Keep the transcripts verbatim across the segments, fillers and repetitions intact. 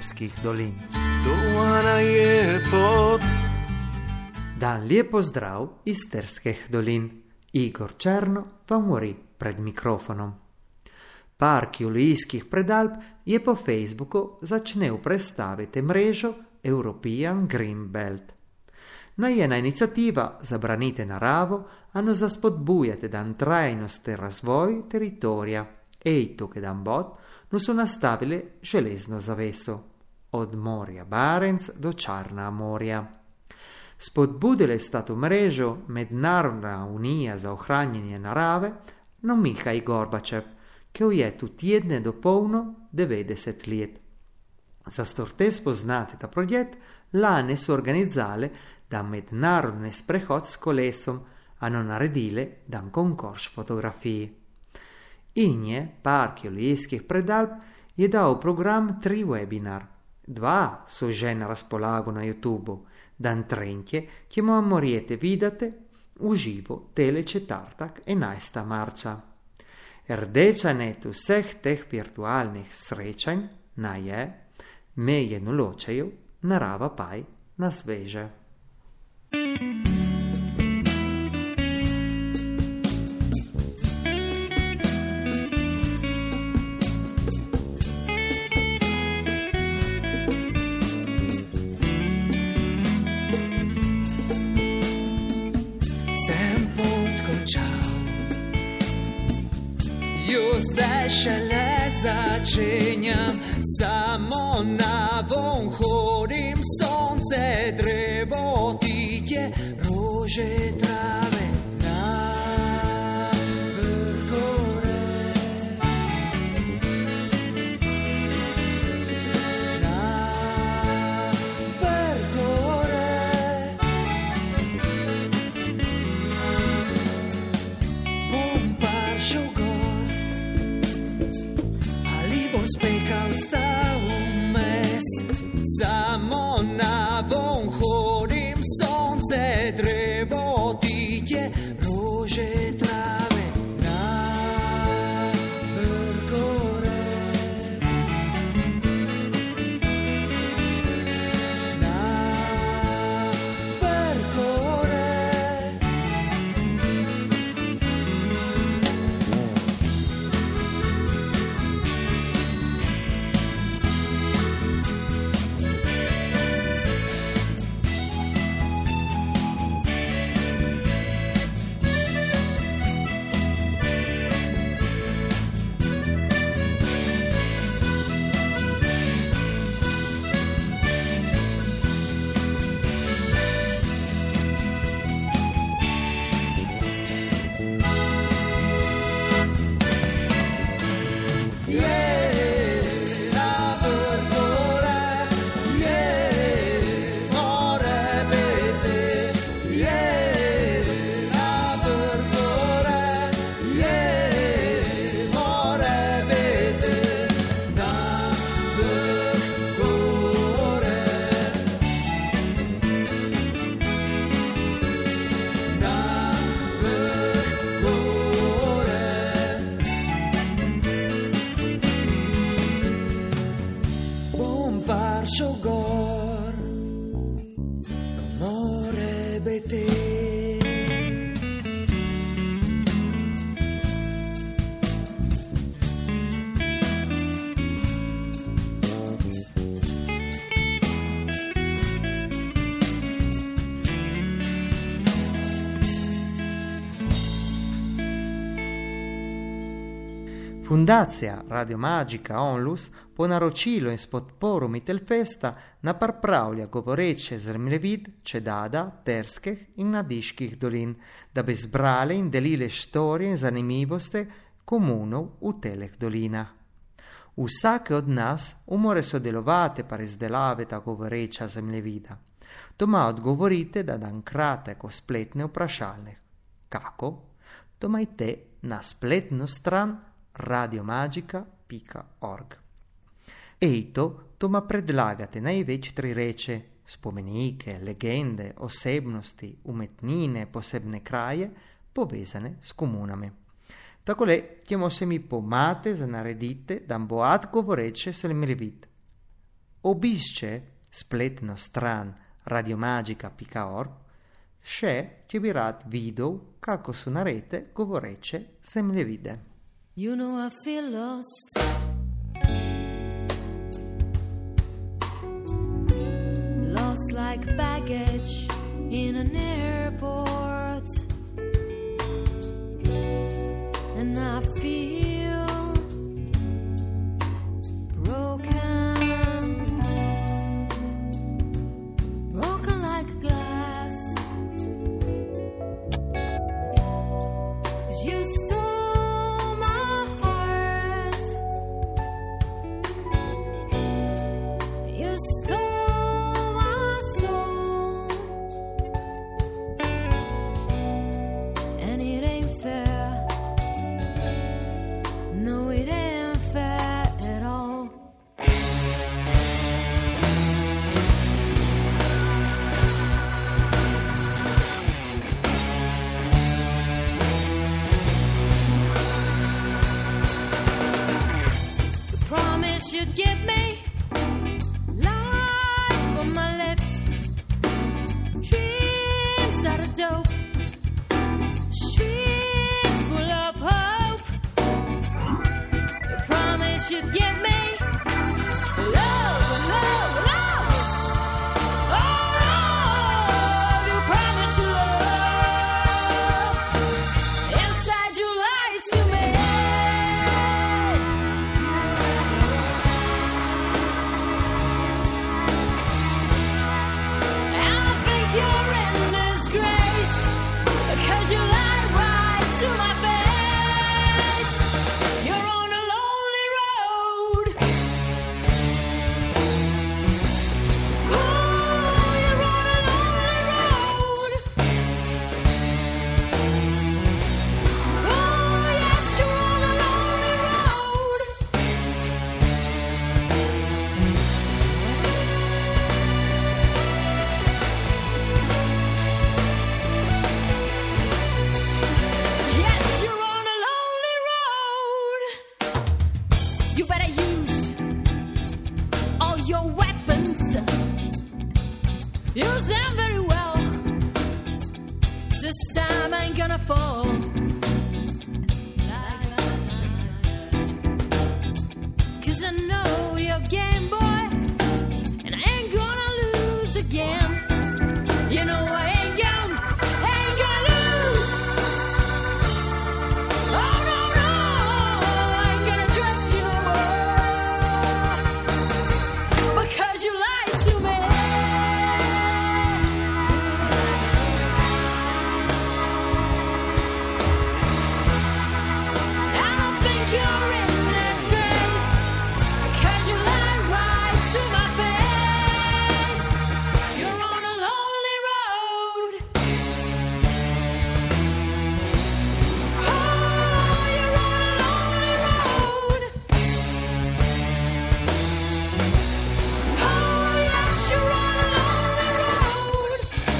Isterskih dolin. Dovana je pot. Dan lijepo zdrav iz Terskih dolin. Igor Černo vam govori pred mikrofonom. Park Julijskih predalb je po Facebooku začel predstaviti mrežo European Green Belt. Najena inicijativa za branite naravo, ano za spodbujate dan trajnosti razvoj teritorija. Ej to, dan bot, no su nastavile železno zaveso. Od morja Barenc do Čarna morja. Spodbudile sta tu mrežo Mednarodna unija za ohranjanje narave, no Mihaj Gorbačev, ki je tu tjedne dopolno devetdeset let. Za storte spoznati ta projekt, lane su organizzale da mednarodni sprehod s kolesom, ano naredile dan konkurs fotografiji. Inje, Park Julijskih predalb, je dao program tri webinar. Dva su že na raspolago na YouTubeu, dan trentje, ki mu morjete vidate uživo tele četrtak enajstega marca. Rdeča net vseh teh virtualnih srečanj na je, meje noločejo, narava paj nas veže. Zdaj šele začenjam, samo na von hodim, sonce, drevo, titje, rože, trave, na vrh gore. Na vrh gore. Bom paršel gor, spekal sta vmes, samo na von hodim, sonce, drevo, titje, rože, trave, na vrh gore. Na vrh gore. Paršel gor, more bete. Fundacija Radio Magica Onlus po naročilu in s podporo Mitelfesta napravlja govoreče zemljevid Čedada, Terskih in Nadiških dolin, da bi zbrali in delili štorije in zanimivosti komunov v teleh dolinah. Vsake od nas umore sodelovati pa izdelave ta govoreča zemljevida. Doma odgovorite da dan kratek o spletne vprašalnik. Kako? Domajte na spletno stran radiomagica pika org. Ejto, doma predlagate največ tri reče, spomenike, legende, osebnosti, umetnine, posebne kraje, povezane s komunami. Takole, kjemo se mi pomate za naredite, da bo ad govoreče zemljevid. obisce spletno stran radiomagica pica org, še će bi rad video kako su na rete govoreće zemljevide. You know I feel lost. Lost like baggage in an airport. And I feel broken. Broken like glass. 'Cause you stole my heart. You stole my soul. And it ain't fair. No, it ain't fair at all. The promise you'd give me lies from my lips, dreams out of dope, streets full of hope. The promise you'd give me love, love, love. Oh, love, you promised you love. Inside you lied to me. And I think you're in disgrace, 'cause you lied right to my face. You're on a lonely road. Oh, you're on a lonely road. Oh, yes, you're on a lonely road. Yes, you're on a lonely road. You better use all your weapons. Use them very well. This time I ain't gonna fall. Like last time. 'Cause I know your game, boy, and I ain't gonna lose again. You know I ain't gonna, ain't gonna lose. Oh no, no, I ain't gonna trust you no more, because you lied to me. And I think you're in disgrace, 'cause you lied right to my face. You're on a lonely road. Oh, you're on a lonely road. Oh, yes, you're on a lonely road.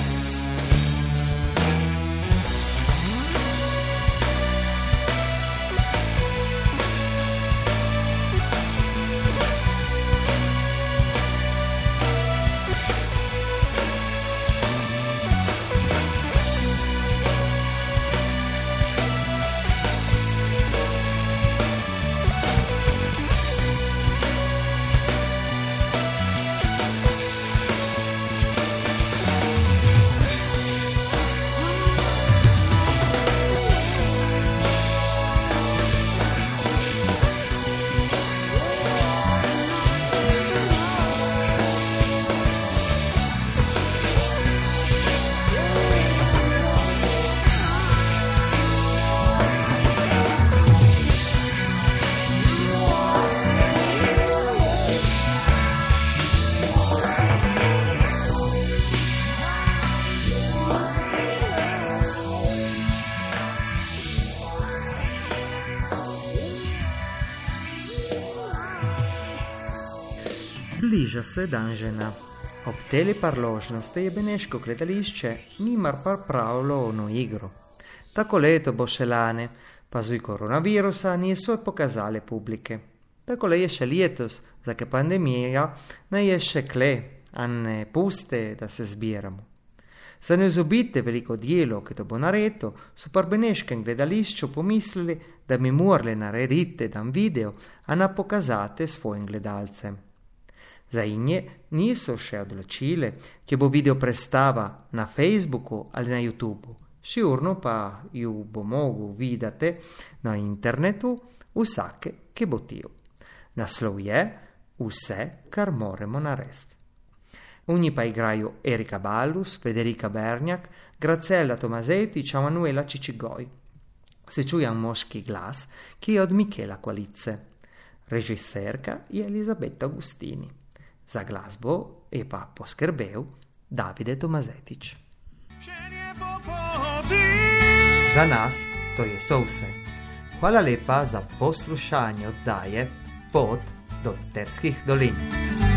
Bliža se dan žena. Ob teli parložnosti je beneško gledališče nimar pripravilo ono igro. Tako leto bo še lane, pa zuj koronavirusa niso pokazale publike. Tako le ješe lietos, za che pandemija ne ješe kle, a ne puste da se zbiramo. Za ne zobite veliko dijelo, che to bo nareto, su par beneškem gledališču pomislili, da mi morali narediti dan video, a na pokazate svojim gledalcem. Za inje niso še odločile, če bo video prestava na Facebooku ali na YouTubu. Šiurno pa ju bo mogu videti na internetu vsake, ki bo tiju. Naslov je Vse, kar moramo narediti. U njih pa igrajo Erika Ballus, Federica Bernjak, Graciela Tomazetić, Manuela Cicigoj. Se čuje moški glas, ki je od Michela Qualizze. Režiserka je Elisabetta Agustini. Za glasbo je pa poskrbel Davide Tomazetić. Za nas to je so vse. Hvala lepa za poslušanje oddaje Pot do Terskih dolin.